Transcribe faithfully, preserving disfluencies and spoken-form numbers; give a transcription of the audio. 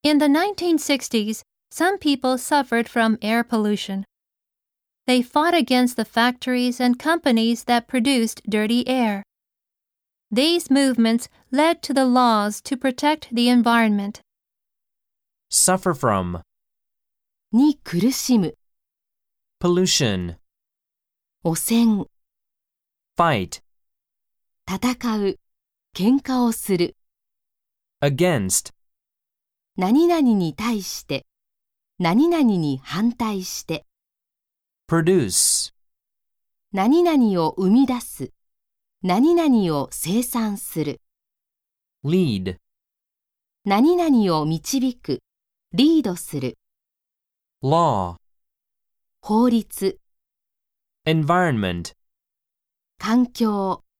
In the nineteen sixties, some people suffered from air pollution. They fought against the factories and companies that produced dirty air. These movements led to the laws to protect the environment. Suffer from に苦しむ、 pollution, 汚染、 fight, 戦う、喧嘩をする、 against, 何々に対して、何々に反対して、 produce, 何々を生み出す、何々を生産する、 lead, 何々を導く、リードする、 law, 法律、 environment, 環境、